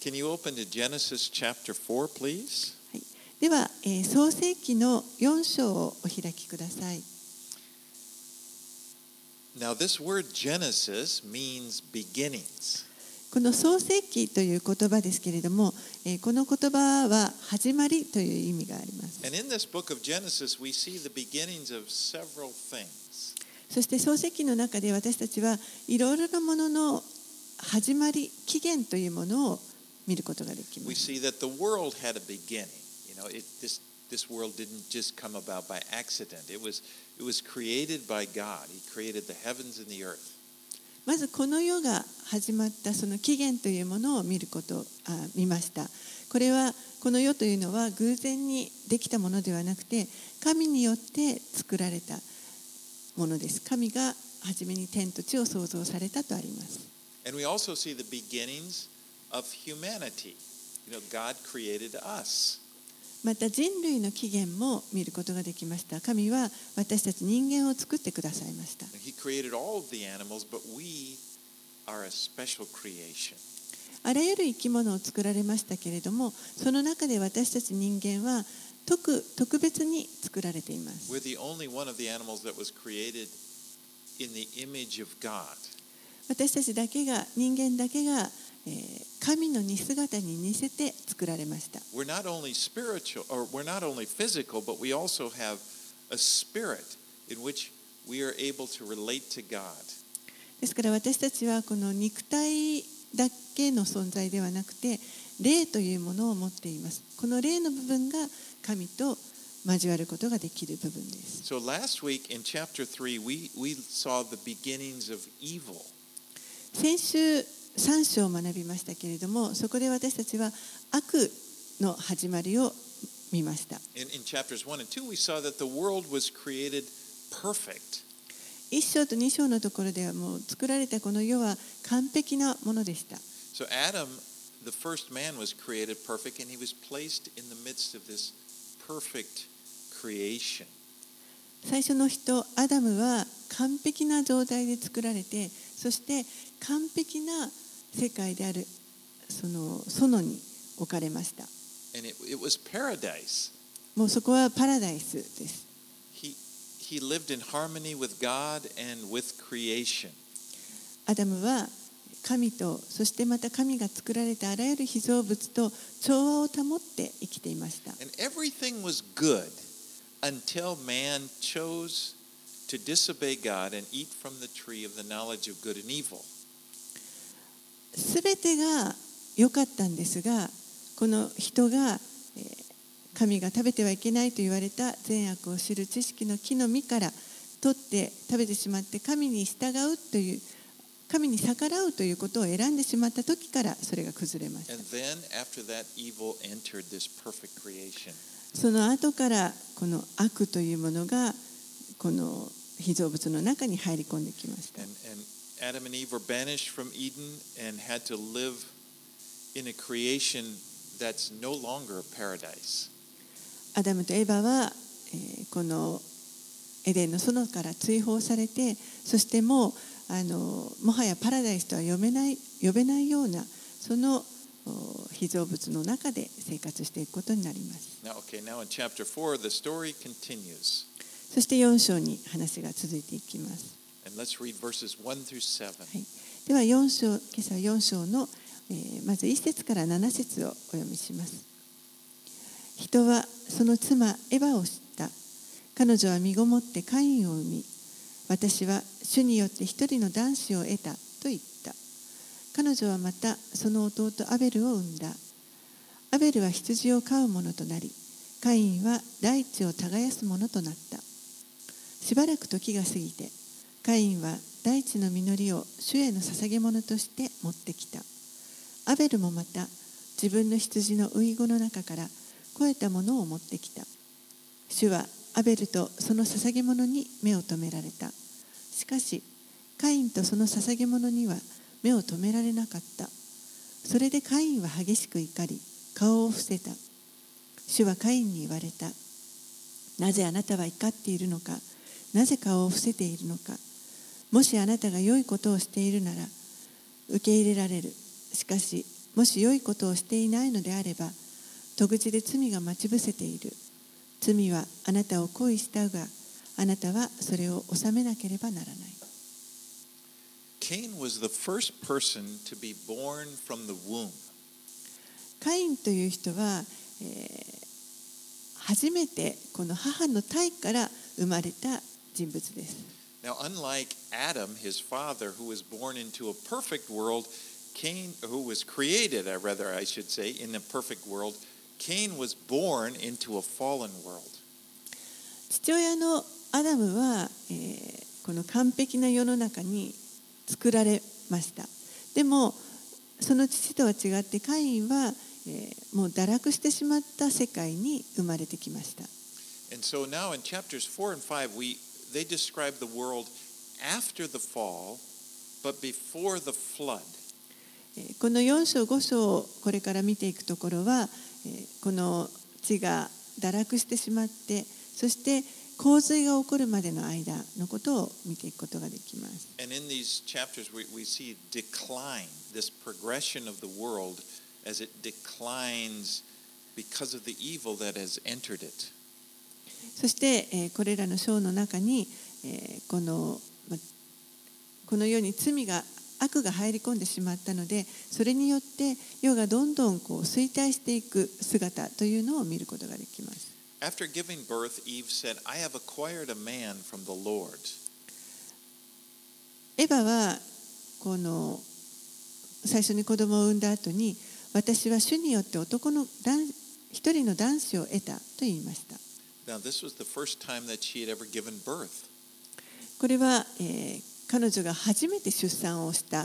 Can you open to Genesis chapter 4, please? はい、では、創世記の4章をお開きください。 Now, this word Genesis means beginnings. この創世記という言葉ですけれども、この言葉は始まりという意味があります。 And in this book of Genesis, we see the beginnings of several things. そして創世記の中で私たちはいろいろなものの始まり、起源というものを見ることができま We す。 see that the world had a beginning. This world didn't just come about by accident. It was created by God. He created the heavens and the earth. まずこの世が始まったその起源というものを見ました。これはこの世というのは偶然にできたものではなくて、神によって作られたものです。神が初めに天と地を創造されたとあります。 And we also see the beginnings of humanity. God created us. また人類の起源も見ることができました。神は私たち人間を作ってくださいました。 He created all of the animals, but we are a special creation. あらゆる生き物を作られましたけれども、その中で私たち人間は特別に作られています。 We're the only one of the animals that was created in the image of God. 私たちだけが、人間だけが神の似姿に似せて作られました。 We're not only spiritual, or we're not only physical, but we also have a spirit in which we are able to relate to God. ですから私たちはこの肉体だけの存在ではなくて、霊というものを持っています。この霊の部分が神と交わることができる部分です。 So last week in chapter 3, we saw the beginnings of evil. 先週3章を学びましたけれども、そこで私たちは悪の始まりを見ました。 In chapters 1 and 2, we saw that the world was created perfect. 1章と2章のところではもう作られたこの世は完璧なものでした。 So Adam, the first man, was created perfect, and he was placed in the midst of this perfect creation. 最初の人、アダムは完璧な状態で作られて、そして完璧な世界であるその園に置かれました。 And it was paradise. もうそこはパラダイスです。 He lived in harmony with God and with creation. アダムは神と、そしてまた神が作られたあらゆる被造物と調和を保って生きていました。 And everything was good until man chose to disobey God and eat from the tree of the knowledge of good and evil. すべてが良かったんですが、この人が神が食べてはいけないと言われた善悪を知る知識の木の実から取って食べてしまって、神に従うという、神に逆らうということを選んでしまった時からそれが崩れました。 And then after that, evil entered this perfect creation. その後からこの悪というものがこの被造物の中に入り込んできました。 And Adam and Eve were banished from Eden and had to live in a creation that's no longer a paradise. アダムとエバは、このエデンの園から追放されて、そしてもはやパラダイスとは呼べないようなその被造物の中で生活していくことになります。 Now in chapter 4, the story continues. そして4章に話が続いていきます。 And let's read verses 1 through 7. はい、では今朝は4章の、まず1節から7節をお読みします。人はその妻エバを知った。彼女は身ごもってカインを産み、私は主によって一人の男子を得たと言った。彼女はまたその弟アベルを産んだ。アベルは羊を飼う者となり、カインは大地を耕す者となった。しばらく時が過ぎて、カインは大地の実りを主への捧げ物として持ってきた。アベルもまた自分の羊のウイゴの中から肥えたものを持ってきた。主はアベルとその捧げ物に目を留められた。しかしカインとその捧げ物には目を留められなかった。それでカインは激しく怒り、顔を伏せた。主はカインに言われた。なぜあなたは怒っているのか。なぜ顔を伏せているのか。もしあなたが良いことをしているなら受け入れられる。しかしもし良いことをしていないのであれば、戸口で罪が待ち伏せている。罪はあなたを恋したが、あなたはそれを治めなければならない。 Cain was the first person to be born from the womb. カインという人は、初めてこの母の胎から生まれた人物です。 Now, unlike Adam, his father, who was born into a perfect world, Cain, who was created, rather I should say, in a perfect world, Cain was born into a fallen world. 父親のアダムは、この完璧な世の中に作られました。でもその父とは違ってカインは、もう堕落してしまった世界に生まれてきました。 And so now in chapters 4 and 5, they describe the world after the fall, but before the flood. この4章5章をこれから見ていくところは、この地が堕落してしまって、そして洪水が起こるまでの間のことを見ていくことができます。 And in these chapters we see decline, this progression of the world as it declines because of the evil that has entered it. そして、これらの章の中に、この世に罪が悪が入り込んでしまったので、それによって世がどんどん衰退していく姿というのを見ることができます。 After giving birth, Eve said, I have acquired a man from the Lord. エヴァはこの最初に子供を産んだ後に、私は主によって一人の男子を得たと言いました。 Now, this was the first time that she had ever given birth. これは、彼女が初めて出産をした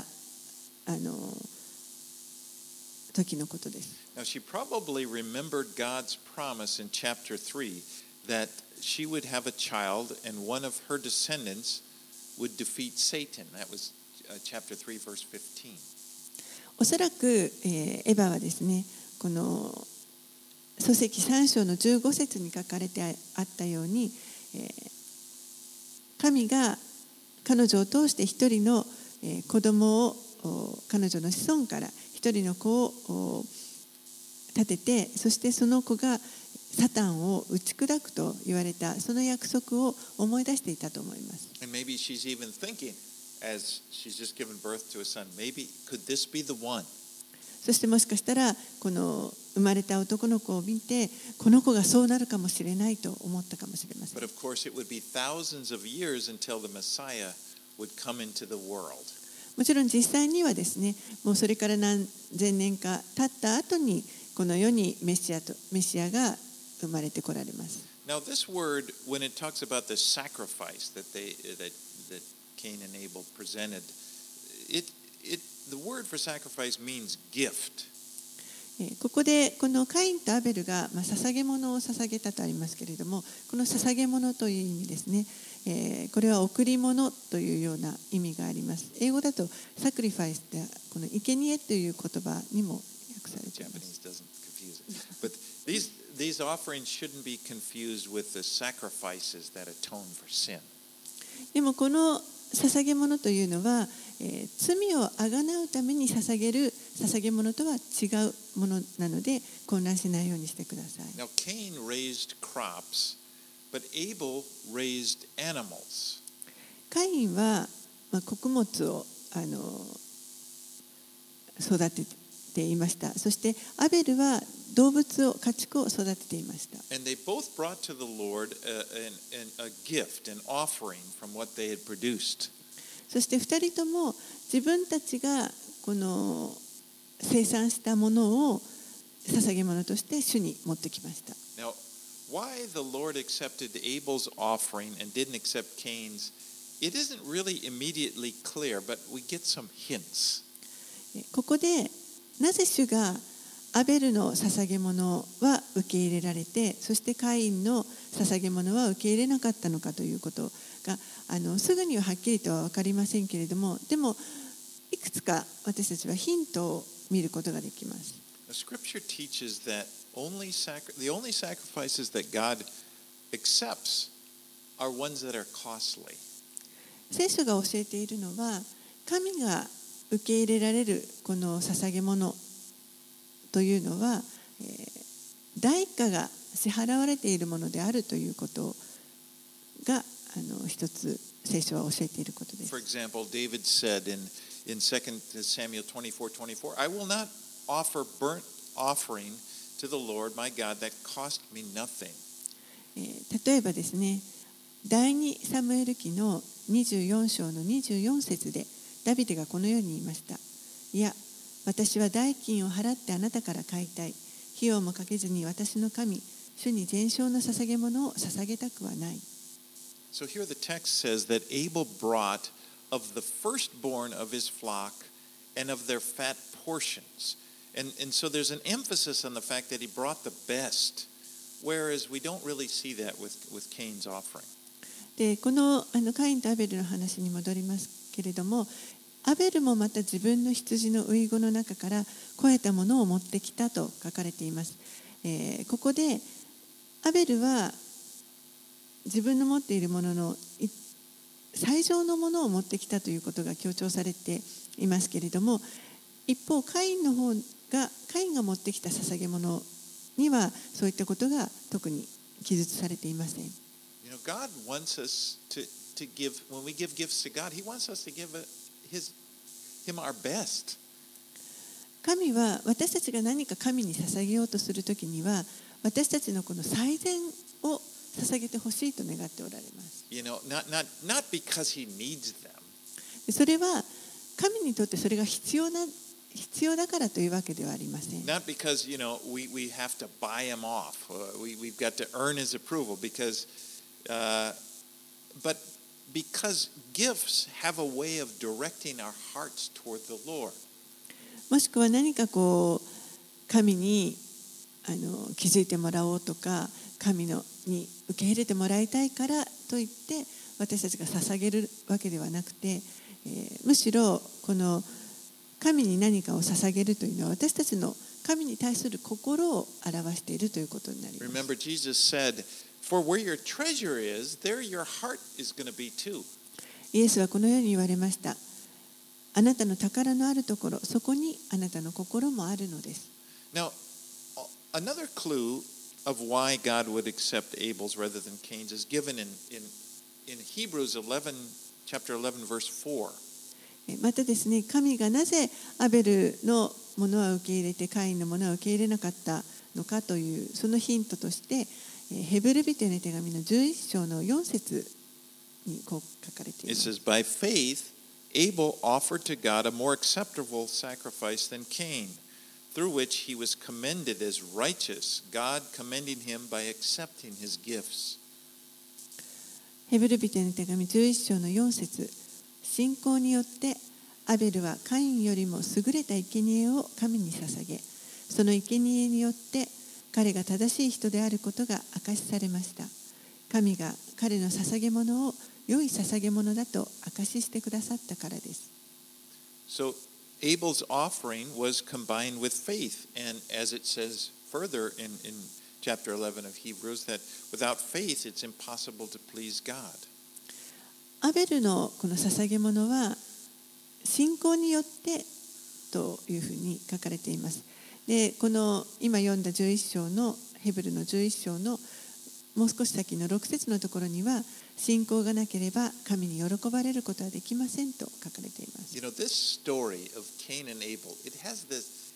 時のことです。 Now, she probably remembered God's promise in chapter 3 that she would have a child and one of her descendants would defeat Satan. That was chapter 3, verse 15. おそらく、エヴァはですね、この書籍3章の15節に書かれてあったように、神が彼女を通して一人の子供を彼女の子孫から一人の子を立てて、そしてその子がサタンを打ち砕くと言われたその約束を思い出していたと思います。 And maybe she's even thinking, as she's just given birth to a son, maybe could this be the one? そしてもしかしたらこの生まれた男の子を見て、この子がそうなるかもしれないと思ったかもしれません。 But of course, it would be thousands of years until the Messiah would come into the world. もちろん実際にはですね、もうそれから何千年か経った後にこの世にメシアが生まれてこられます。 Now, this word, when it talks about the sacrifice that Cain and Abel presented, the word for sacrifice means gift. ここでこのカインとアベルが捧げ物を捧げたとありますけれども、この捧げ物という意味ですね。これは贈り物というような意味があります。英語だとサクリファイスってこの生贄という言葉にも訳されています。 Japanese doesn't confuse it. But these offerings shouldn't be confused with the sacrifices that atone for sin. でもこの捧げ物というのは、罪をあがなうために捧げる捧げ物とは違うものなので混乱しないようにしてください。 Now, Cain raised crops, but Abel raised animals. カインは、穀物を育てていました。そしてアベルは動物を家畜を育てていました。 And they both brought to the Lord a gift, an offering from what they had produced. そして2人とも自分たちがこの生産したものを捧げ物として主に持ってきました。 Now, why the Lord accepted Abel's offering and didn't accept Cain's, it isn't really immediately clear, but we get some hints. ここでなぜ主がアベルの捧げ物は受け入れられて、そしてカインの捧げ物は受け入れなかったのかということがすぐにははっきりとは分かりませんけれども、でもいくつか私たちはヒントを見ることができます。 The Scripture teaches that the only sacrifices that God accepts are ones that are costly. 聖書が教えているのは、神が受け入れられるこの捧げ物というのは、代価が支払われているものであるということが一つ聖書は教えていることです。 For example, David said in 2 Samuel 24:24, I will not offer burnt offering to the Lord my God that cost me nothing. 例えばですね、第2サムエル記の24章の24節でダビデがこのように言いました。いや、私は代金を払ってあなたから買いたい。費用もかけずに私の神、主に全焼の捧げ物を捧げたくはない。 So here the text says that Abel brought of the firstborn of his flock and of their fat portions. And so there's an emphasis on the fact that he brought the best, whereas we don't really see that with Cain's offering. で、このカインとアベルの話に戻りますけれども、アベルもまた自分の羊の遺言の中から肥えたものを持ってきたと書かれています。ここでアベルは自分の持っているものの最上のものを持ってきたということが強調されていますけれども、一方カインが持ってきた捧げ物にはそういったことが特に記述されていません。 You know, God wants us to give, when we give gifts to God, He wants us to give Him our best. 神は私たちが何か神に捧げようとするときには、私たちのこの最善を捧げてほしいと願っておられます。 You know, not because He needs them. それは神にとってそれが必要だからというわけではありません。 Not because, you know, we have to buy Him off. We've got to earn His approval but because gifts have a way of directing our hearts toward the Lord. もしくは何か神に気づいてもらおうとか、神に受け入れてもらいたいからといって私たちが捧げるわけではなくて、むしろこの神に何かを捧げるというのは私たちの神に対する心を表しているということになります。 Remember, Jesus said, "For where your treasure is, there your heart is going to be too." イエスはこのように言われました。あなたの宝のあるところ、そこにあなたの心もあるのです。 Now, another clue of why God would accept Abel's rather than Cain's is given in Hebrews 11, chapter 11, verse 4. またですね、神がなぜアベルのものは受け入れてカインのものは受け入れなかったのかというそのヒントとしてヘブル人への手紙の11章の4節にこう書かれています。 It says, By faith, Abel offered to God a more acceptable sacrifice than Cain, through which he was commended as righteous, God commending him by accepting his gifts. ヘブル人への手紙11章の4節、信仰によってアベルはカインよりも優れた生贄を神に捧げ、その生贄によって彼が正しい人であることが証しされました。神が彼の捧げ物を良い捧げ物だと証ししてくださったからです。 So Abel's offering was combined with faith, and as it says further in chapter 11 of Hebrews, that without faith it's impossible to please God. アベルのこの捧げ物は信仰によってというふうに書かれています。で、この今読んだ11章のヘブルの11章のもう少し先の6節のところには信仰がなければ神に喜ばれることはできませんと書かれています。 You know, this story of Cain and Abel, it has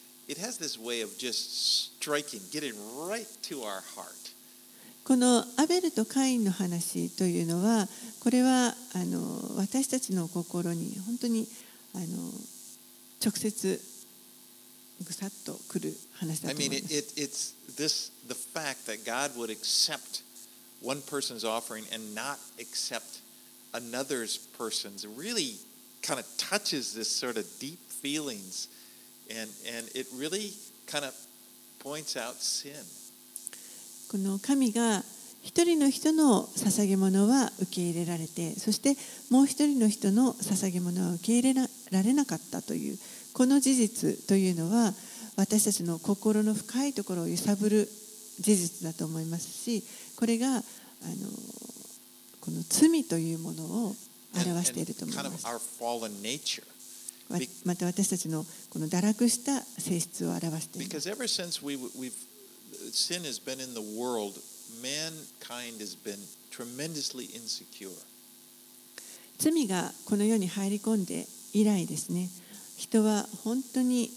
this way of just getting right to our heart. このアベルとカインの話というのは、これは私たちの心に本当に直接ぐさっとくる話だと思います。 I mean, it's the fact that God would accept one person's offering and not accept another person's really kind of touches this sort of deep feelings, and it really kind of points out sin. この神が一人の人の捧げ物は受け入れられて、そしてもう一人の人の捧げ物は受け入れられなかったというこの事実というのは私たちの心の深いところを揺さぶる事実だと思いますし、これがこの罪というものを表していると思います。 また私たちのこの堕落した性質を表しています。 Because ever since sin has been in the world, mankind has been tremendously insecure. 罪がこの世に入り込んで以来ですね、人は本当に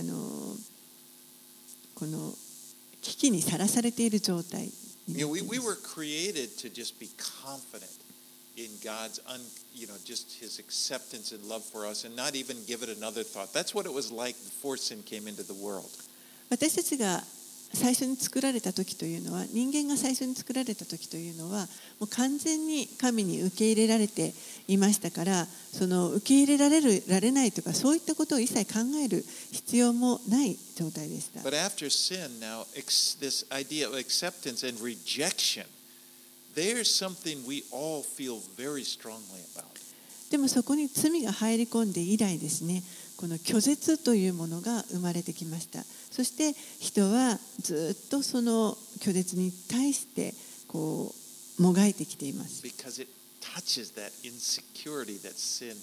この危機にさらされている状態になっています。 We were created to just be confident in God's, just His acceptance and love for us, and not even give it another thought. That's what it was like before sin came into the world. 私たちが最初に作られた時というのは、人間が最初に作られた時というのはもう完全に神に受け入れられていましたから、その受け入れられるられないとかそういったことを一切考える必要もない状態でした。 But after sin, now this idea of acceptance and rejection, there's something we all feel very strongly about. でもそこに罪が入り込んで以来ですね、この拒絶というものが生まれてきました。そして人はずっとその拒絶に対してこうもがいてきています。 Because it touches that insecurity that sin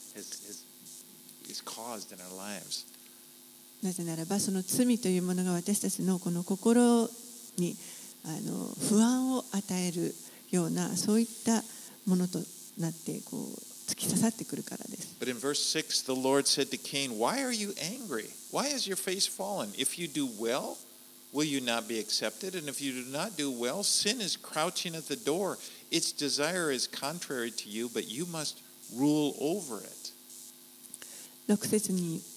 is caused in our lives. なぜならばその罪というものが私たちのこの心に不安を与えるようなそういったものとなってこう突き刺さってくるからです。 But in verse 6, the Lord said to Cain, "Why are you angry? Why is your face fallen? If you do well, will you not be accepted? And if you do not do well, sin is crouching at the door. Its desire is contrary to you, but you must rule over it." 6節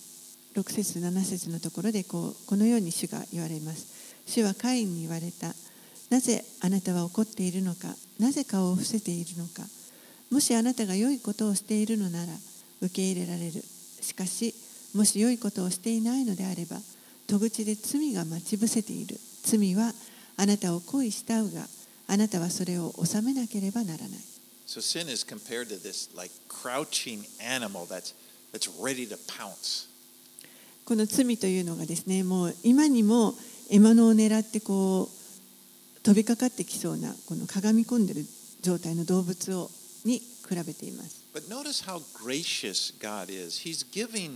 7節のところでこのように主が言われます。主はカインに言われた。なぜあなたは怒っているのか、なぜ顔を伏せているのか。もしあなたが良いことをしているのなら受け入れられる。しかしもし良いことをしていないのであれば戸口で罪が待ち伏せている。罪はあなたを恋したうがあなたはそれを治めなければならない。 So sin is compared to this like crouching animal that's ready to pounce. この罪というのがですね、もう今にも獲物を狙ってこう飛びかかってきそうなこのかがみ込んでいる状態の動物に比べています。 But notice how gracious God is. He's giving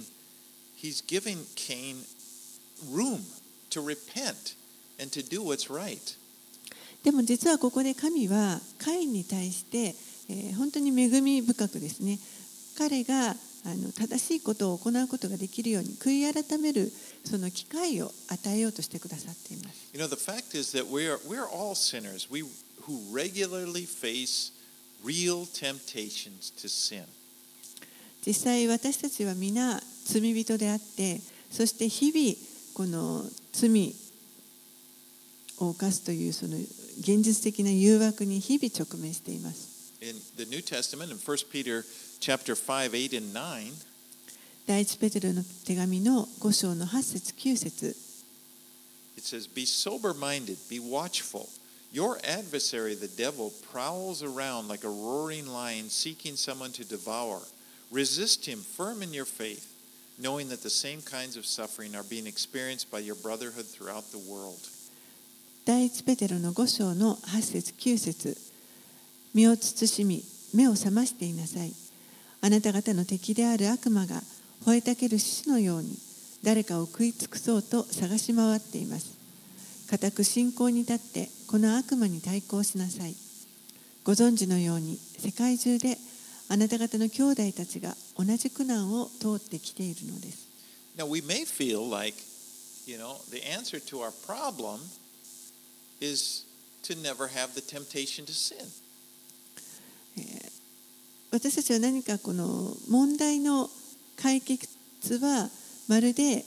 Cain room to repent and to do what's right. でも実はここで神はカインに対して、本当に恵み深くですね、彼が正しいことを行うことができるように悔い改めるその機会を与えようとしてくださっています。 You know, the fact is that we're all sinners. We who regularly face real temptations to sin. 実際私たちは皆罪人であって、そして日々この罪を犯すというその現実的な誘惑に日々直面しています。 In the New Testament, in 1 Peter chapter 5, 8 and 9, 第一ペテロの手紙の5章の8節9節 it says, "Be sober-minded, be watchful. Your adversary, the devil, prowls around like a roaring lion seeking someone to devour. Resist him firm in your faith, knowing that the same kinds of suffering are being experienced by your brotherhood throughout the world." 第一ペテロの5章の8節9節身を慎み目を覚ましていなさい。あなた方の敵である悪魔が吠えたける獅子のように誰かを食い尽くそうと探し回っています。固く信仰に立ってこの悪魔に対抗しなさい。ご存知のように世界中であなた方の兄弟たちが同じ苦難を通ってきているのです。 Now we may feel like, the answer to our problem is to never have the temptation to sin. 私たちは何かこの問題の解決はまるで、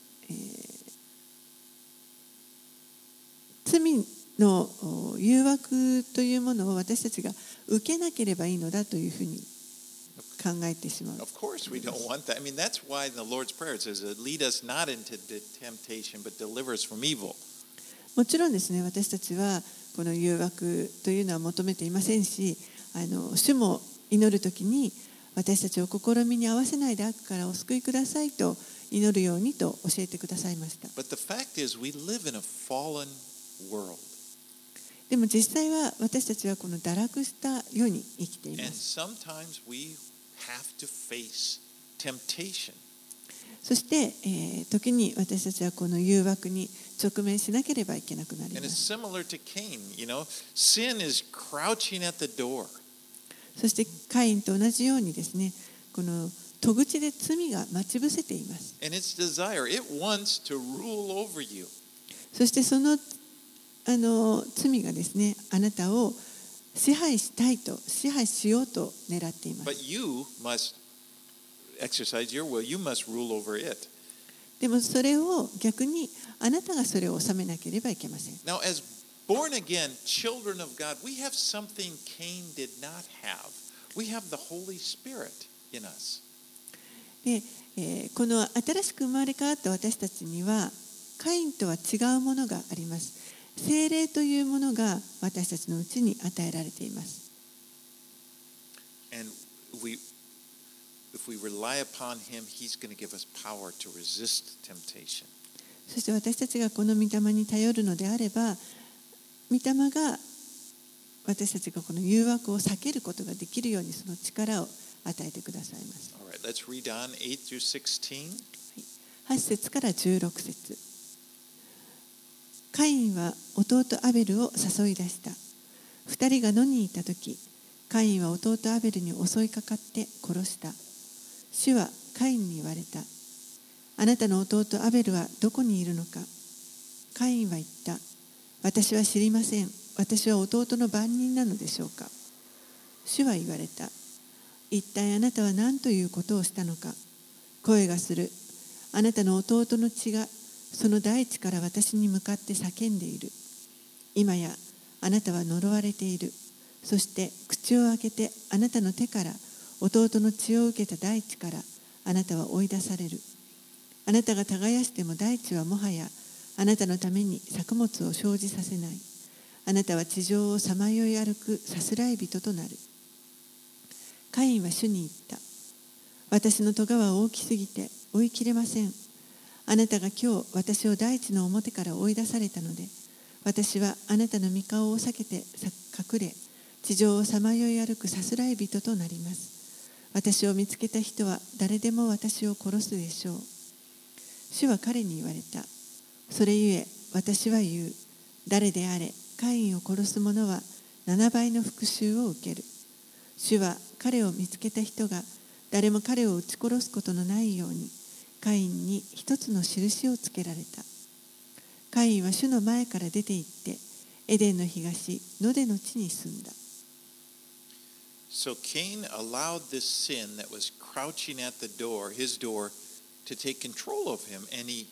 罪の誘惑というものを私たちが受けなければいいのだというふうに考えてしまう。 Of course we don't want that. I mean, that's why in the Lord's Prayer it says, "Lead us not into temptation, but deliver us from evil." もちろんですね、私たちはこの誘惑というのは求めていませんし、主も祈るときに私たちを試みに合わせないで悪からお救いくださいと祈るようにと教えてくださいました。 But the fact is, we live in a fallen world. でも実際は私たちはこの堕落した世に生きていま And す。 sometimes we have to face temptation. そして、時に私たちはこの誘惑に直面しなければいけなくなりま And it's す。 similar to Cain, sin is crouching at the door. そしてカインと同じようにですね、この戸口で罪が待ち伏せています。 And its desire, it wants to rule over you. そしてその罪がですね、あなたを支配したいと、支配しようと狙っています。 But you must exercise your will. You must rule over it. でもそれを逆にあなたがそれを治めなければいけません。 Now, as born again children of God, we have something Cain did not have. We have the Holy Spirit in us. で、この新しく生まれ変わった私たちにはカインとは違うものがあります。聖霊というものが私たちのうちに与えられています。 And if we rely upon him, he's going to give us power to resist temptation. そして私たちがこの御霊に頼るのであれば、御霊が私たちがこの誘惑を避けることができるようにその力を与えてくださいます。 All right, let's read on 8 through 16. 8節から16節。カインは弟アベルを誘い出した。二人が野にいたとき、カインは弟アベルに襲いかかって殺した。主はカインに言われた。あなたの弟アベルはどこにいるのか。カインは言った。私は知りません。私は弟の番人なのでしょうか。主は言われた。一体あなたは何ということをしたのか。声がする。あなたの弟の血がその大地から私に向かって叫んでいる。今やあなたは呪われている。そして口を開けてあなたの手から弟の血を受けた大地からあなたは追い出される。あなたが耕しても大地はもはやあなたのために作物を生じさせない。あなたは地上をさまよい歩くさすらい人となる。カインは主に言った。私の咎は大きすぎて追いきれません。あなたが今日私を大地の表から追い出されたので、私はあなたの御顔を避けて隠れ、地上をさまよい歩くさすらい人となります。私を見つけた人は誰でも私を殺すでしょう。主は彼に言われた。それゆえ私は言う。誰であれ、カインを殺す者は7倍の復讐を受ける。主は彼を見つけた人が誰も彼を撃ち殺すことのないように、カインに一つの印をつけられた。カインは主の前から出て行って、エデンの東、ノデの地に住んだ。 So Cain allowed this sin that was crouching at the door, his door, to take control of him, and he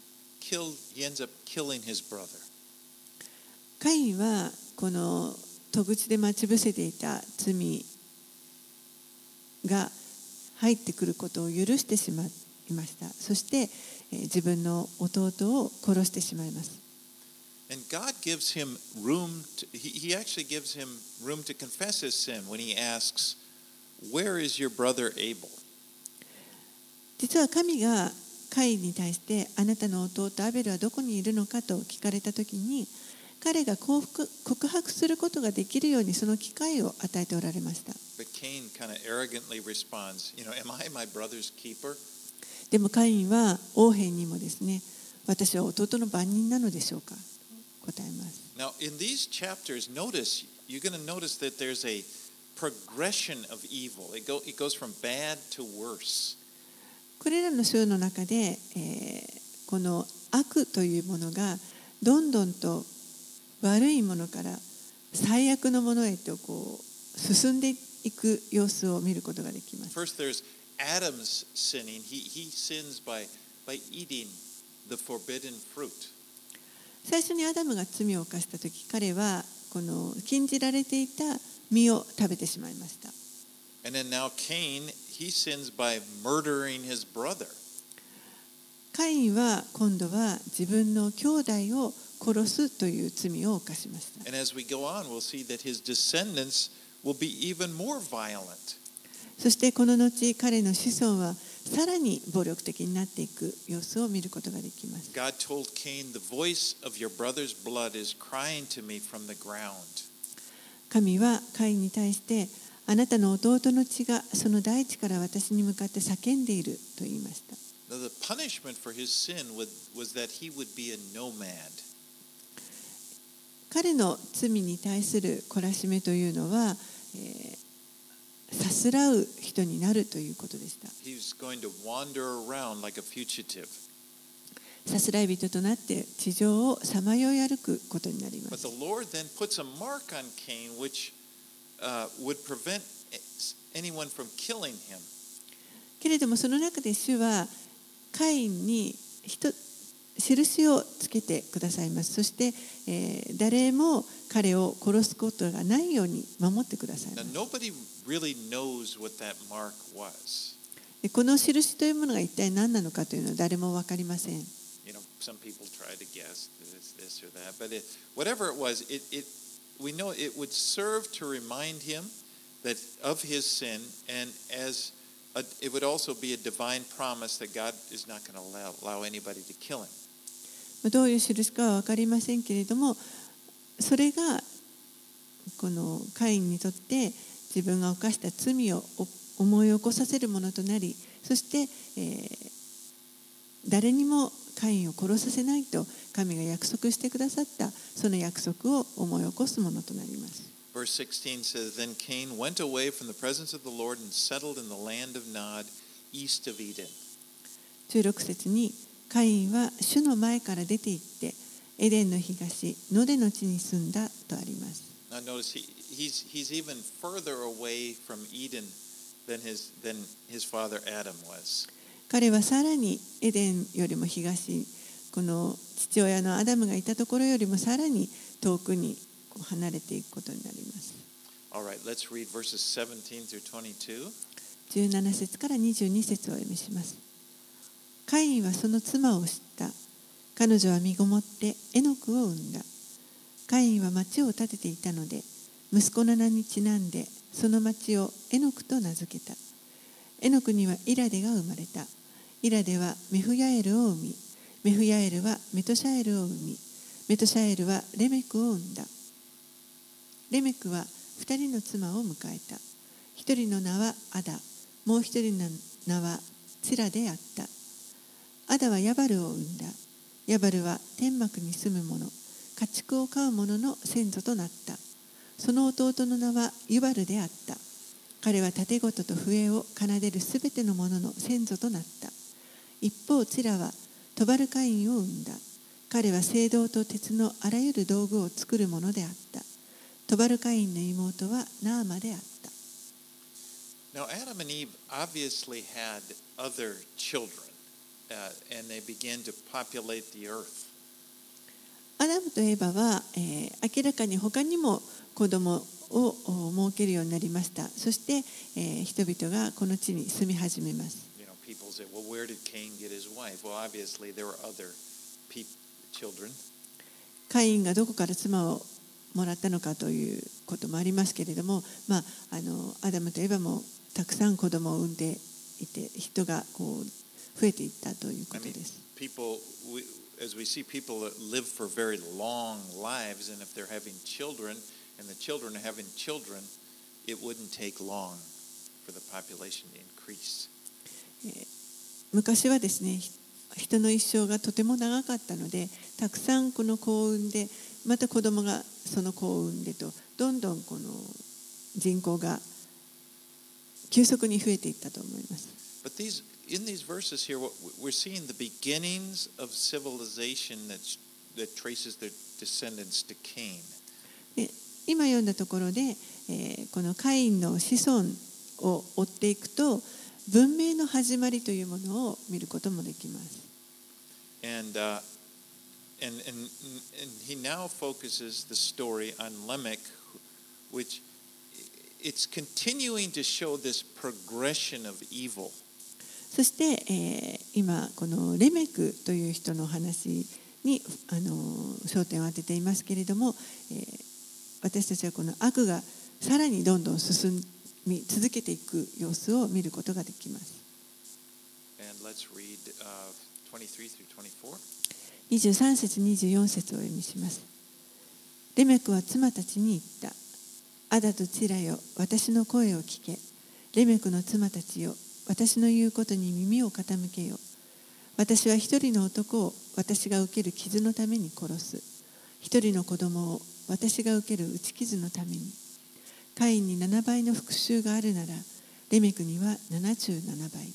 ends up killing his brother. カインはこの戸口で待ち伏せていた罪が入ってくることを許してしまいました。そして、自分の弟を殺してしまいます。 And God gives him room he actually gives him room to confess his sin when he asks, "Where is your brother Abel?" 実は神がカインに対してあなたの弟アベルはどこにいるのかと聞かれたときに、彼が告白することができるようにその機会を与えておられました。 But Cain kind of arrogantly responds, "Am I my brother's keeper?" でもカインは王兵にもですね、私は弟の番人なのでしょうかと答えます。 Now, in these chapters, you're going to notice that there's a progression of evil. It goes from bad to worse. これらの章の中で、この悪というものがどんどんと悪いものから最悪のものへと進んでいく様子を見ることができます。 First, there's Adam's sinning. He sins by eating the forbidden fruit. 最初にアダムが罪を犯したとき、彼はこの禁じられていた実を食べてしまいました。 And then now Cain, he sins by murdering his brother. カインは今度は自分の兄弟を殺すという罪を犯しました。 And as we go on, we'll see that his descendants will be even more violent. そしてこの後、彼の子孫はさらに暴力的になっていく様子を見ることができます。 God told Cain, "The voice of your brother's blood is crying to me from the ground." 神はカインに対して、 あなたの弟の血がその大地から私に向かって叫んでいると言いました。 Now, the punishment for his sin was that he would be a nomad. 彼の罪に対する懲らしめというのは、さすらう人になるということでした。 He was going to wander around like a fugitive. さすらい人となって地上をさまよい歩くことになりま But す。 the Lord then puts a mark on Cain which would prevent anyone from killing him. けれどもその中で主はカインに印をつけてくださいます。そして、誰も彼を殺すことがないように守ってくださいま Now, す。 nobody really knows what that mark was. でこの印というものが一体何なのかというのは誰も分かりません。 You know, some people try to guess this or that, but whatever it was, we know it would serve to remind him that of his sin, and it would also be a divine promise that God is not going to allow anybody to kill him. どういう印かは分かりませんけれども、それがこのカインにとって自分が犯した罪を思い起こさせるものとなり、そして、誰にもカインを殺させないと神が約束してくださったその約束を思い起こすものとなります。 Verse 16 says, Then Cain went away from the presence of the Lord and settled in the land of Nod, east of Eden. 16節にカインは主の前から出て行ってエデンの東ノデの地に住んだとあります。 Now notice he's even further away from Eden than his father Adam was. 彼はさらにエデンよりも東、この父親のアダムがいたところよりもさらに遠くに離れていくことになります。 All right, let's read verses 17 through 22. 17節から22節をお読みします。カインはその妻を知った。彼女は身ごもってエノクを産んだ。カインは町を建てていたので、息子の名にちなんでその町をエノクと名付けた。エノクにはイラデが生まれた。イラデはメフヤエルを生み、メフヤエルはメトシャエルを生み、メトシャエルはレメクを生んだ。レメクは2人の妻を迎えた。1人の名はアダ、もう1人の名はツラであった。アダはヤバルを生んだ。ヤバルは天幕に住む者、家畜を飼う者の先祖となった。その弟の名はユバルであった。彼は盾事と笛を奏でるすべての者の先祖となった。一方、ツラはトバルカインを生んだ。彼は青銅と鉄のあらゆる道具を作る者であった。トバルカインの妹はナーマであった。 Now, Adam and Eve obviously had other children, and they began to populate the earth. アダムとエバは、明らかに他にも子供を設けるようになりました。そして、人々がこの地に住み始めます。 You know, people say, well, where did Cain get his wife? Well, obviously there were other children. カインがどこから妻をもらったのかということもありますけれども、アダムとエバもたくさん子供を産んでいて、人がこう増えていったということです。 As we see people that live for very long lives, and if they're having children, and the children are having children, it wouldn't take long for the population to increase. 昔はですね、人の一生がとても長かったので、たくさんこの子を産んで、また子供がその子を産んでと、どんどんこの人口が急速に増えていったと思います。 But in these verses here, we're seeing the beginnings of civilization that traces their descendants to Cain. 今読んだところで、このカインの子孫を追っていくと、文明の始まりというものを見ることもできます。 And he now focuses the story on Lamech, which it's continuing to show this progression of evil. そして、今このレメクという人の話に焦点を当てていますけれども、私たちはこの悪がさらにどんどん進み続けていく様子を見ることができます。 And let's read 23 through 24. 23節24節をお読みします。レメクは妻たちに言った。 アダとチラよ、私の声を聞け。レメクの妻たちよ、私の言うことに耳を傾けよ。私は一人の男を私が受ける傷のために殺す。一人の子供を私が受ける打ち傷のために。カインに7倍の復讐があるなら、レメクには77倍。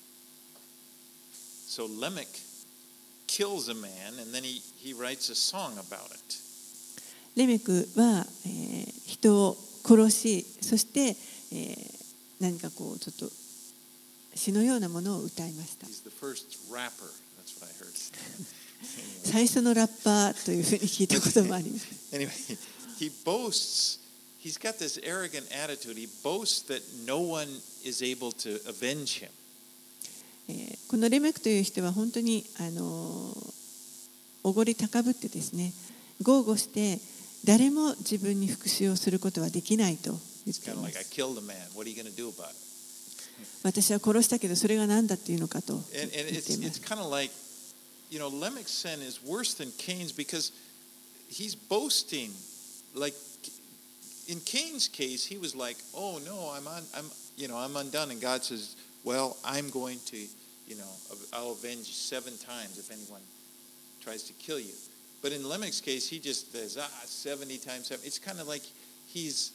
So Lamech kills a man and then he writes a song about it. レメクは、人を殺し、そして、何かこうちょっと詩のようなものを歌いました。 He's the first rapper. That's what I heard. 最初のラッパーというふうに聞いたこともあります。 Anyway, he boasts. He's got this arrogant attitude. He boasts that no one is able to avenge him. このレメクという人は本当におごり高ぶってですね、豪語して誰も自分に復讐をすることはできないと言っています。私は殺したけどそれが何だっていうのかと言っています。 It's kind of like, Lamech's sin is worse than Cain's because he's boasting. Like in Cain's case, he was like, "Oh no, I'm undone," and God says, "Well, I'm going to, I'll avenge 7 times if anyone tries to kill you." But in Lamech's case, he just says, 70 times 7. It's kind of like he's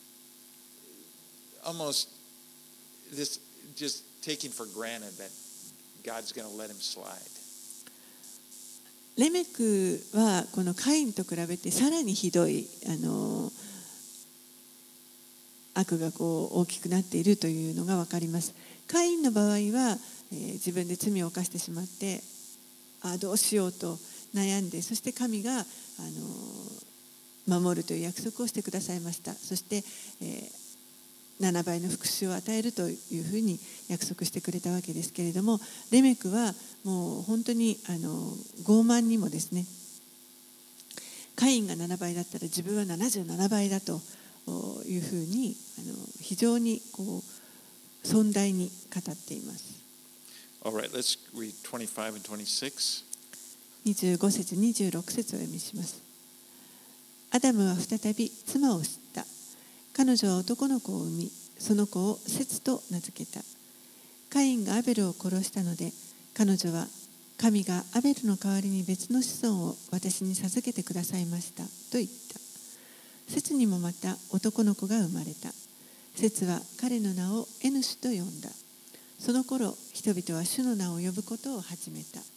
almost just taking for granted that God's going to let him slide. レメクはこのカインと比べてさらにひどい悪がこう大きくなっているというのが分かります。カインの場合は、自分で罪を犯してしまってどうしようと悩んで、そして神が守るという約束をしてくださいました。そして、7倍の復讐を与えるというふうに約束してくれたわけですけれども、レメクはもう本当に傲慢にもですね、カインが7倍だったら自分は77倍だというふうに非常にこう尊大に語っています。 Alright, let's read 25 and 26. 25節26節を読みします。アダムは再び妻を知った。彼女は男の子を産み、その子をセツと名付けた。カインがアベルを殺したので、彼女は神がアベルの代わりに別の子孫を私に授けてくださいましたと言った。セツにもまた男の子が生まれた。セツは彼の名をエヌシュと呼んだ。その頃、人々は主の名を呼ぶことを始めた。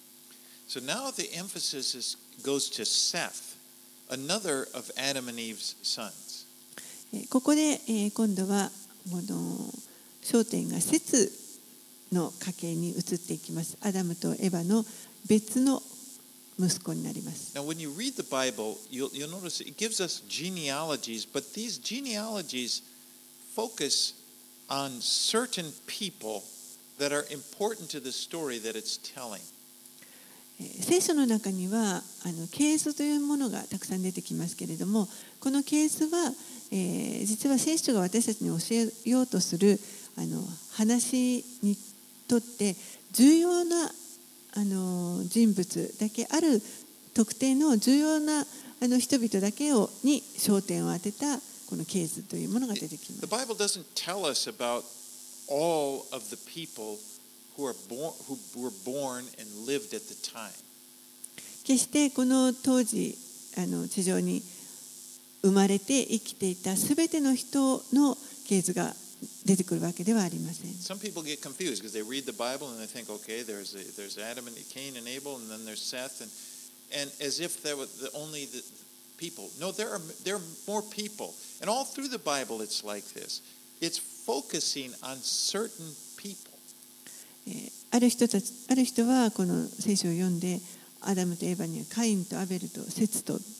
So now the emphasis goes to Seth, another of Adam and Eve's sons. ここで今度は焦点がセツの家系に移っていきます。アダムとエバの別の息子になります。 Now, when you read the Bible, you'll notice it gives us genealogies, but these genealogies focus on certain people that are important to the story that it's telling. 聖書の中には系図というものがたくさん出てきますけれども、この系図は、実は聖書が私たちに教えようとする話にとって重要な人物だけ、ある特定の重要な人々だけに焦点を当てたこの系図というものが出てきます。 The Bible doesn't tell us about all of the people who were born and lived at the time. 決してこの当時地上に生まれて生きていたすべての人の系図が出てくるわけではありません。 Some people get confused because they read the Bible and they think, okay, there's Adam and Cain and Abel, and then there's Seth, and as if there were only the people. No, there are more people, and all through the Bible it's like this. It's focusing on certain people. ある人はこの聖書を読んで、アダムとエバにはカインとアベルとセツと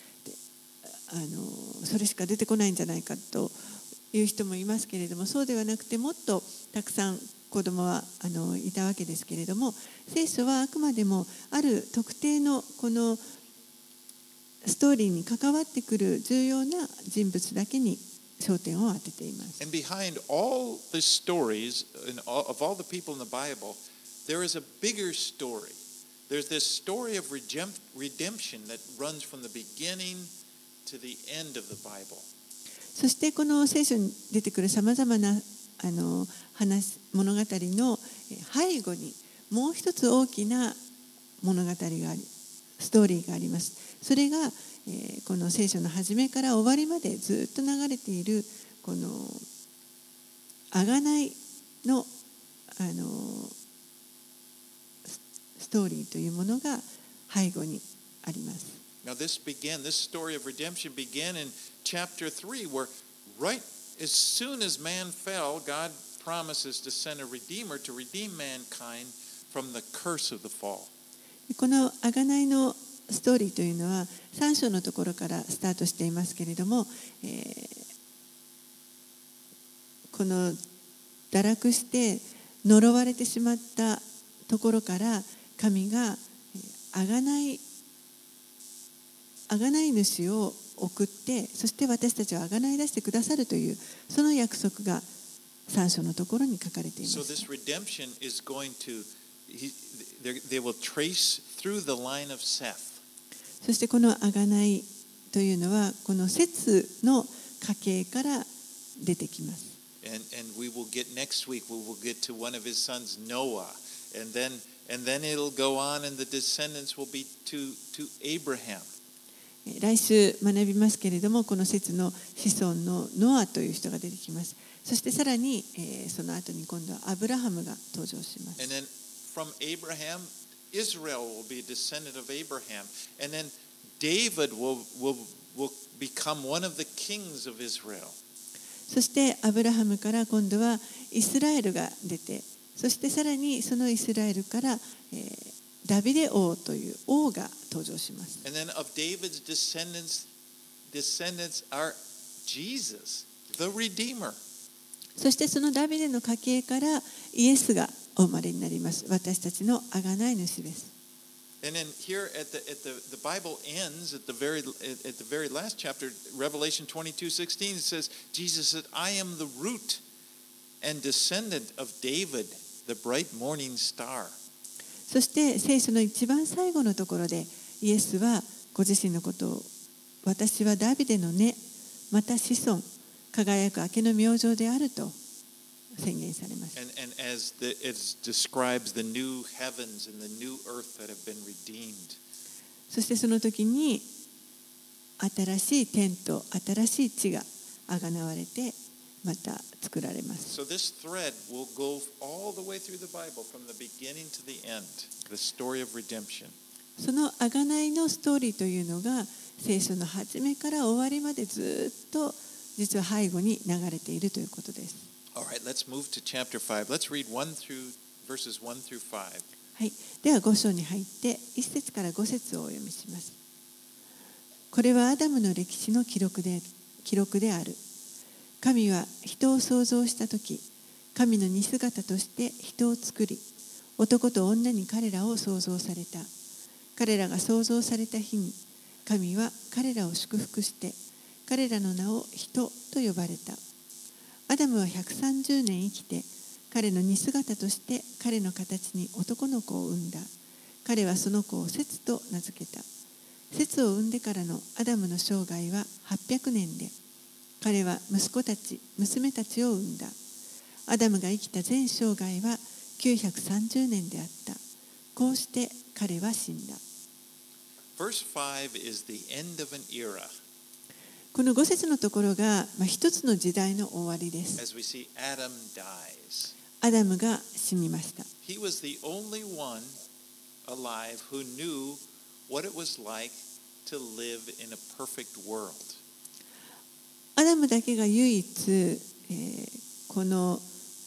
それしか出てこないんじゃないかという人もいますけれども、そうではなくてもっとたくさん子供はいたわけですけれども、聖書はあくまでもある特定のこのストーリーに関わってくる重要な人物だけに焦点を当てています。 And behind all the stories of all the people in the Bible, there is a bigger story. There's this story of redemption that runs from the beginning to the end of the Bible. そしてこの聖書に出てくるさまざまな物語の背後にもう一つ大きな物語があり、ストーリーがあります。それがこの聖書の始めから終わりまでずっと流れているこの贖いのストーリーというものが背後にあります。 Now this story of redemption began in chapter 3, where right as soon as man fell, God promises to send a redeemer to redeem mankind from the curse of the fall. この贖いのストーリーというのは3章のところからスタートしていますけれども、この堕落して呪われてしまったところから神が贖い主を送って、そして私たちを贖い出してくださるというその約束が3章のところに書かれています。 So this redemption is going to they will trace through the line of Seth. そしてこの贖いというのはこのセツの家系から出てきます。 And we will get next week, we will get to one of his sons, Noah, and then it'll go on, and the descendants will be to Abraham. 来週学びますけれども、このセツの子孫のノアという人が出てきます。そしてさらに、その後に今度はアブラハムが登場します。 And then from Abraham, Israel will be a descendant of Abraham, and then David will become one of the kings of Israel. そしてアブラハムから今度はイスラエルが出て、そしてさらにそのイスラエルから、ダビデ王という王が登場します。 And then of David's descendants are Jesus, the Redeemer. そしてそのダビデの家系からイエスがお生まれになります。私たちの贖い主です。 And then here at the Bible ends at the very last chapter, Revelation 22:16, it says, Jesus said, I am the root and descendant of David, the bright morning star. そして聖書の一番最後のところでイエスはご自身のことを、私はダビデの根、また子孫、輝く明けの明星であると宣言されます。 And as it describes the new heavens and the new earth that have been redeemed. そしてその時に新しい天と新しい地があがなわれてまた作られます。 So this thread will go all the way through the Bible from the beginning to the end, the story of redemption. その贖いのストーリーというのが聖書の初めから終わりまでずっと実は背後に流れているということです。 All right, let's move to chapter 5. Let's read verses 1 through 5. はい、では5章に入って1節から5節をお読みします。これはアダムの歴史の記録である。神は人を創造したとき、神の似姿として人を作り、男と女に彼らを創造された。彼らが創造された日に、神は彼らを祝福して、彼らの名を人と呼ばれた。アダムは130年生きて、彼の似姿として彼の形に男の子を産んだ。彼はその子をセツと名付けた。セツを産んでからのアダムの生涯は800年で、彼は息子たち、娘たちを産んだ。アダムが生きた全生涯は930年であった。こうして彼は死んだ。 Verse 5 is the end of an era. この5節のところが、一つの時代の終わりです。 As we see, Adam dies. アダムが死にました。 He was the only one alive who knew what it was like to live in a perfect world. アダムだけが唯一、この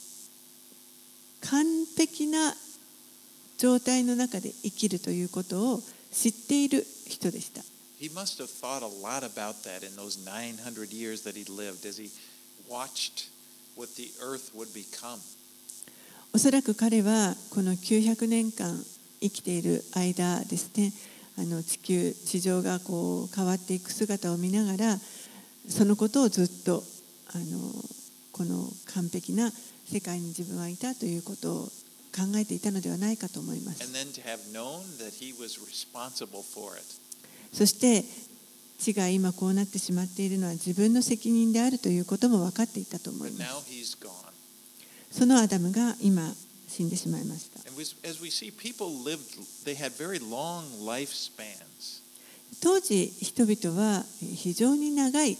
完璧な状態の中で生きるということを知っている人でした。 He must have thought a lot about that in those 900 years that he lived as he watched what the earth would become. おそらく彼はこの900年間生きている間ですね、地上がこう変わっていく姿を見ながら、そのことをずっとこの完璧な世界に自分はいたということを考えていたのではないかと思います。 And then to have known that he was responsible for it. そして地が今こうなってしまっているのは自分の責任であるということも分かっていたと思い But ま now す。 he's gone. そのアダムが今死んでしまいました。 And as we see, people lived, they had very long lifespans. 当時人々は非常に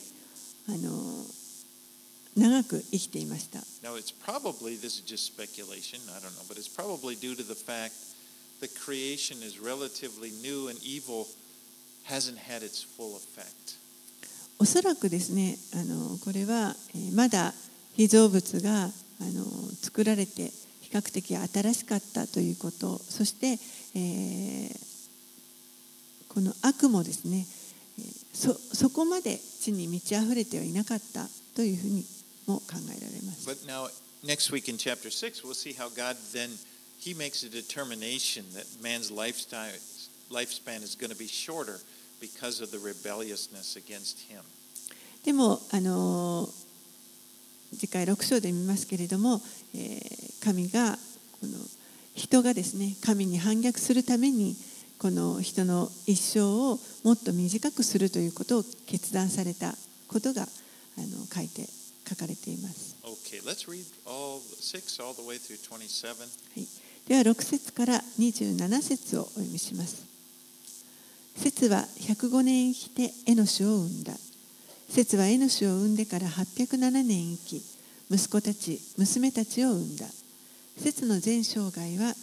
長く生きていました。 Now, it's probably, this is just speculation, I don't know, but it's probably due to the fact that creation is relatively new and evil hasn't had its full effect. おそらくですね、これはまだ被造物が作られて比較的新しかったということ、そして、この悪もですね、そこまで地に満ち溢れてはいなかったというふうにも考えられます。 But now, next week in chapter 6, we'll see how God then, he makes a determination that man's lifespan is going to be shorter because of the rebelliousness against him. でも次回6章で見ますけれども、神がこの人がですね、神に反逆するためにこの人の一生をもっと短くするということを決断されたことが書かれています。 Okay, let's read all 6 all the way through 27. はい、では6節から27節をお読みします。セツは105年生きてエノシを産んだ。セツはエノシを産んでから807年生き、息子たち、娘たちを産んだ。セツの全生涯は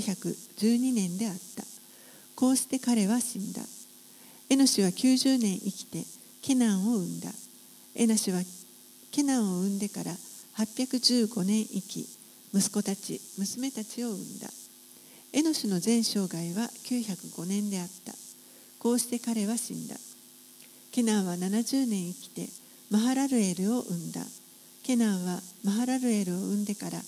912年であった。こうして彼は死んだ。エノシは90年生きてケナンを産んだ。エノシはケナンを産んでから815年生き、息子たち、娘たちを産んだ。エノシの全生涯は905年であった。こうして彼は死んだ。ケナンは70年生きてマハラルエルを産んだ。ケナンはマハラルエルを産んでから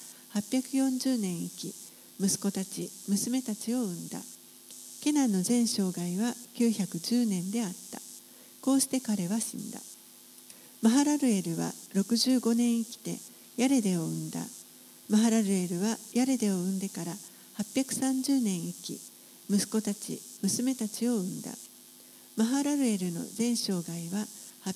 840年生き、息子たち、娘たちを産んだ。ケナンの全生涯は910年であった。こうして彼は死んだ。マハラルエルは65年生きてヤレデを産んだ。マハラルエルはヤレデを産んでから830年生き、息子たち、娘たちを産んだ。マハラルエルの全生涯は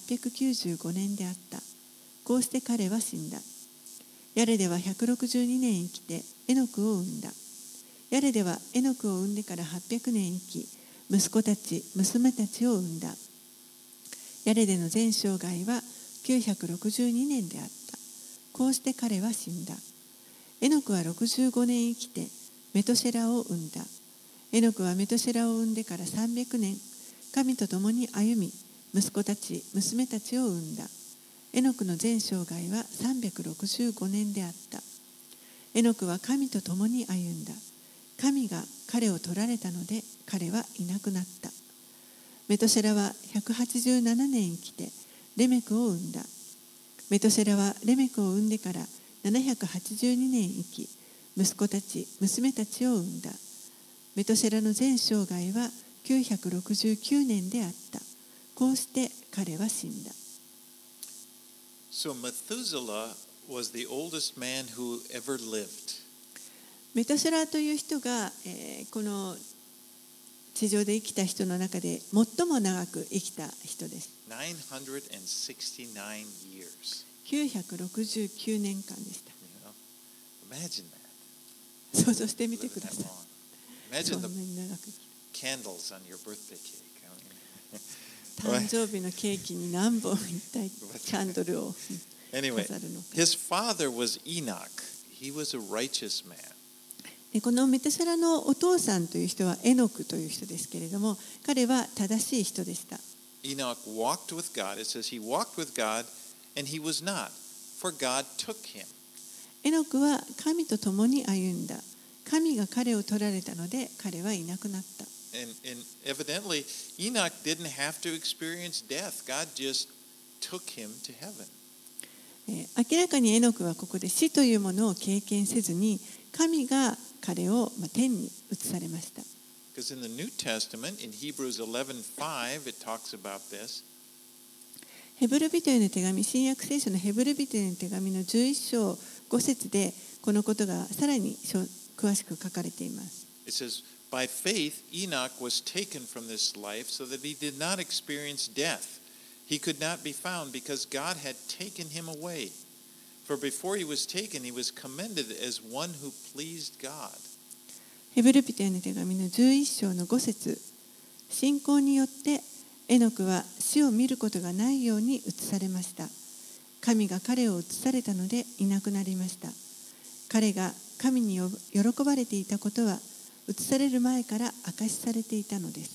895年であった。こうして彼は死んだ。ヤレデは162年生きてエノクを産んだ。ヤレデはエノクを産んでから800年生き、息子たち、娘たちを産んだ。ヤレデの全生涯は962年であった。こうして彼は死んだ。エノクは65年生きてメトシェラを産んだ。エノクはメトシェラを産んでから300年、神と共に歩み、息子たち、娘たちを産んだ。エノクの全生涯は365年であった。エノクは神と共に歩んだ。神が彼を取られたので彼はいなくなった。メトシェラは187年生きてレメクを産んだ。メトシェラはレメクを産んでから782年生き、息子たち、娘たちを産んだ。メトシェラの全生涯は969年であった。こうして彼は死んだ。 So Methuselah was the oldest man who ever lived. メトシェラという人が、この地上で生きた人の中で最も長く生きた人です。 969 years. 969年間でした。 You know? Imagine that. 想像してみて Living くだ that さい。 long. そ Imagine んな the に長く生きる。 candles on your birthday cake. I 誕生日のケーキに何本一体キャンドルを Anyway, 飾るのか。 his father was Enoch. He was a righteous man. でこのメトシェラのお父さんという人はエノクという人ですけれども、彼は正しい人でした。 Enoch walked with God. It says he walked with God and he was not, for God took him. エノクは神と共に歩んだ。神が彼を取られたので彼はいなくなった。 And evidently, Enoch didn't have to experience death. God just took him to heaven. 明らかにエノクはここで死というものを経験せずに、神が彼を天に移されました。 Because in the New Testament, in Hebrews 11:5, it talks about this. ヘブル人への手紙、新約聖書のヘブル人への手紙の11章5節でこのことがさらに詳しく書かれています。 It says, By faith, Enoch was taken from this life so that he did not experience death. He could not be found because God had taken him away. For before he was taken, he was commended as one who pleased God. ヘブル人への手紙の11章の5節。信仰によってエノクは死を見ることがないように移されました。神が彼を移されたのでいなくなりました。彼が神に喜ばれていたことは移される前から明かしされていたのです。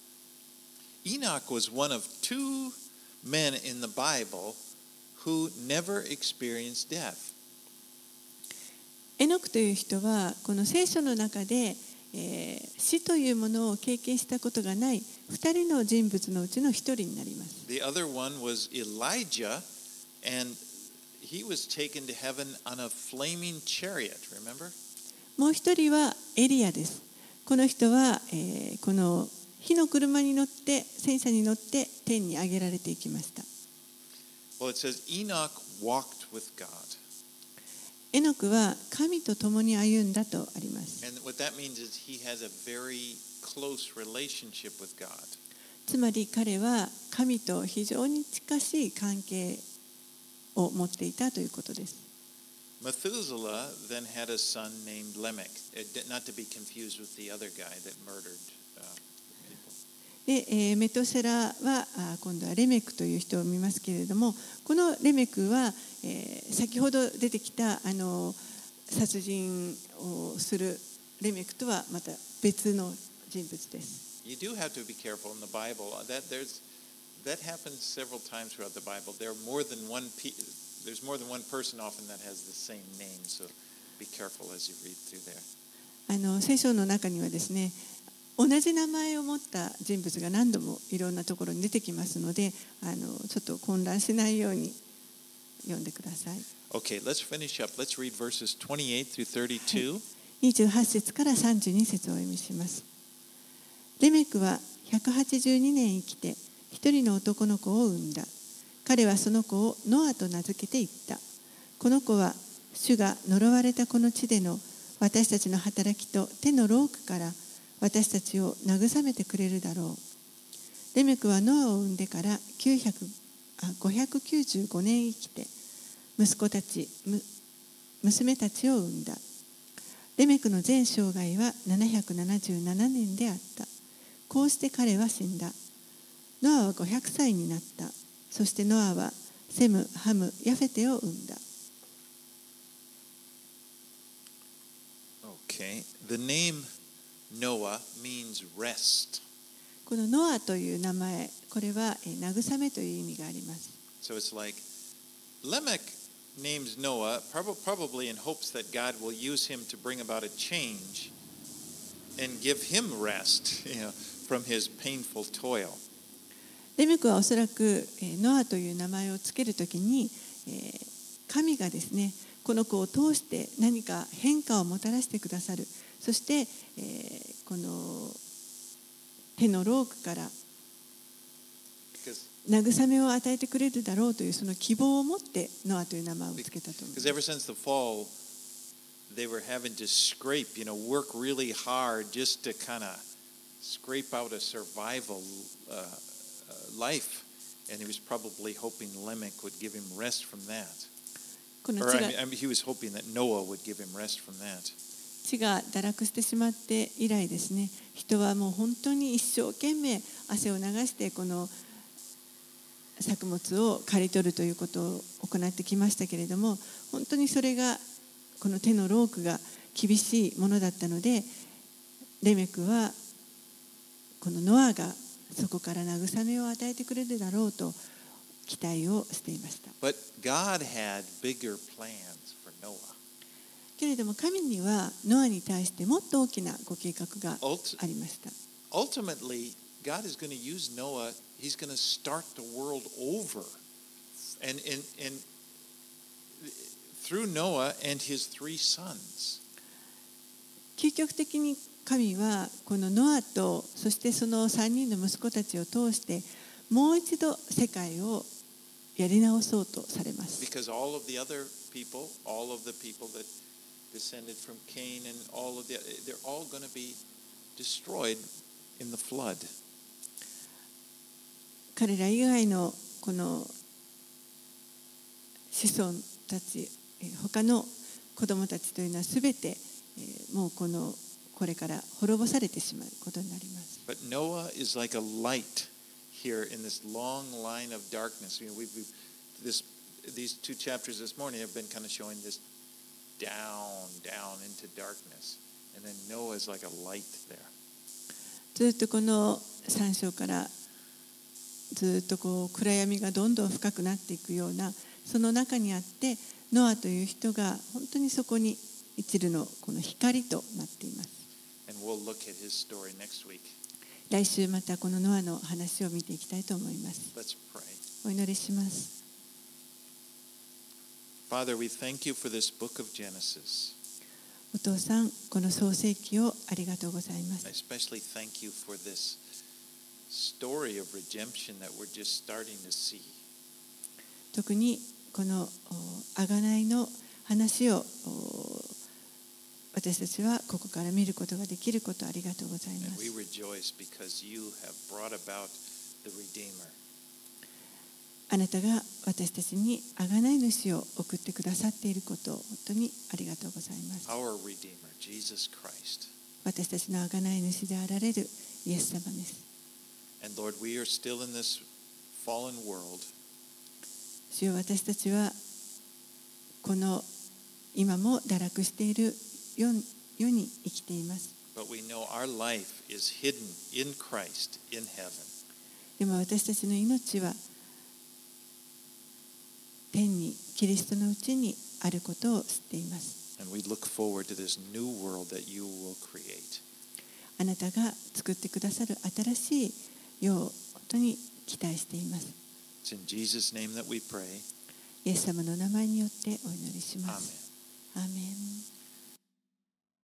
Enoch was one of two men in the Bible who never experienced death. エノクという人はこの聖書の中で、死というものを経験したことがない2人の人物のうちの1人になります。 The other one was Elijah, and he was taken to heaven on a flaming chariot, remember? もう1人はエリアです。この人は、この火の車に乗って戦車に乗って天に上げられていきました。 Well, it says Enoch walked with God. エノクは神と共に歩んだとあります。 And what that means is he has a very close relationship with God. つまり彼は神と非常に近しい関係を持っていたということです。 Methuselah then had a son named Lamech, not to be confused with the other guy that murdered people. で、メトセラは今度はレメクという人を見ますけれども、このレメクは、先ほど出てきた殺人をするレメクとはまた別の人物です。 You do have to be careful in the Bible. That happens several times throughout the Bible. There's more than one person often that has the same name. So be careful as you read through there. 聖書の中にはですね、同じ名前を持った人物が何度もいろんなところに出てきますので、ちょっと混乱しないように読んでください。 Okay, let's finish up. Let's read verses 28 through 32. 28節から32節をお読みします。レメクは182年生きて一人の男の子を産んだ。彼はその子をノアと名付けていった。この子は主が呪われたこの地での私たちの働きと手の労苦から私たちを慰めてくれるだろう。レメクはノアを産んでから595年生きて息子たち、娘たちを産んだ。レメクの全生涯は777年であった。こうして彼は死んだ。ノアは500歳になった。そしてノアはセム、ハム、ヤフェテを産んだ。 Okay, the name Noah means rest. このノアという名前、これは慰めという意味があります。 So it's like Lamech names Noah probably in hopes that God will use him to bring about a change and give him rest, from his painful toil. レメクはおそらくノアという名前をつけるときに、神がですね、この子を通して何か変化をもたらしてくださる。そして、この手の労苦から慰めを与えてくれるだろうというその希望を持ってノアという名前をつけたと思います。 Because ever since the fall, they were having to scrape, work really hard just to kind of scrape out a survival life, and he was probably hoping Lamech would give him rest from that. Or he was hoping that Noah would give him rest from that. 地が堕落してしまって以来ですね、人はもう本当に一生懸命汗を流してこの作物を刈り取るということを行ってきましたけれども、本当にそれがこの手の労苦が厳しいものだったので、レメクはこのノアがそこから慰めを与えてくれるだろうと期待をしていました。 But God had bigger plans for Noah. けれども神にはノアに対してもっと大きなご計画がありました。 Ultimately, God is going to use Noah. He's going to start the world over, and through Noah and his 3 sons. 究極的に神はこのノアとそしてその3人の息子たちを通してもう一度世界をやり直そうとされます。 Because all of the other people, all of the people that descended from Cain and they're all going to be destroyed in the flood. 彼ら以外のこの子孫たち、他の子供たちというのはすべてもうこれから滅ぼされてしまうことになります。 But Noah is like a light here in this long line of darkness. You know, these two chapters this morning have been kind of showing this down into darkness, and then Noah is like a light there. ずっとこの3章からずっと暗闇がどんどん深くなっていくようなその中にあってノアという人が本当にそこに一縷のこの光となっています。 And we'll look at his story next week. 来週またこのノアの話を見ていきたいと思います。 Let's pray. お祈りします。 Father, we thank you for this book of Genesis. お父さん、この創世記をありがとうございます。 I especially thank you for this story of redemption that we're just starting to see. 特にこの贖いの話を私たちはここから見ることができることありがとうございま And す。 we rejoice because you have brought about the Redeemer. あなたが私たちに贖い主を送ってくださっていることを本当にありがとうございます。 Our Redeemer, Jesus Christ. 私たちの贖い主であられるイエス様です。 And Lord, we are still in this fallen world. 主よ、私たちはこの今も堕落している世に生きています。 But we know our life is hidden in Christ in heaven. でも私たちの命は天にキリストのうちにあることを知っています。 And we look forward to this new world that you will create. あなたが作ってくださる新しい世を本当に期待しています。 It's in Jesus' name that we pray. イエス様の名前によってお祈りします。 Amen. アーメン。